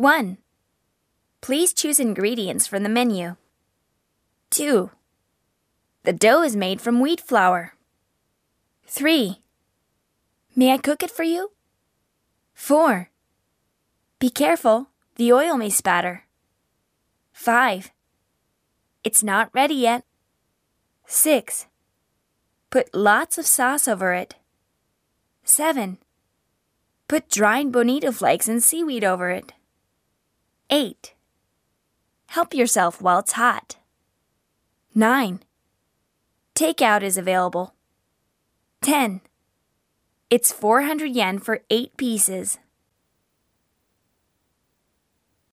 1. Please choose ingredients from the menu. 2. The dough is made from wheat flour. 3. May I cook it for you? 4. Be careful, the oil may spatter. 5. It's not ready yet. 6. Put lots of sauce over it. 7. Put dried bonito flakes and seaweed over it. 8. Help yourself while it's hot. 9. Takeout is available. 10. It's 400 yen for 8 pieces.